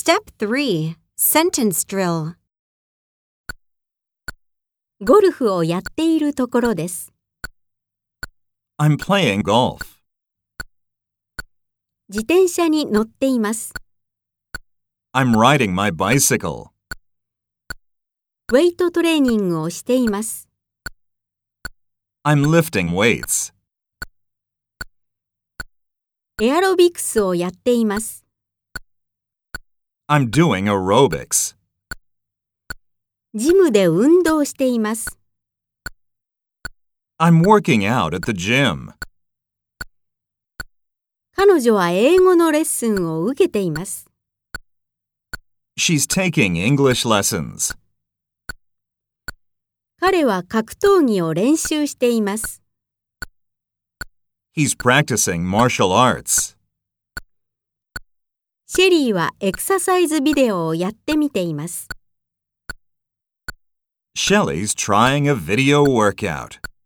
Step 3. Sentence Drill. ゴルフをやっているところです。 I'm playing golf. 自転車に乗っています。 I'm riding my bicycle. ウェイトトレーニングをしています。 I'm lifting weights. エアロビクスをやっています。 I'm doing aerobics. ジムで運動しています。 I'm working out at the gym. 彼女は英語のレッスンを受けています。 She's taking English lessons. 彼は格闘技を練習しています。 He's practicing martial arts. シェリーはエクササイズビデオをやってみています。 Shelley's trying a video workout.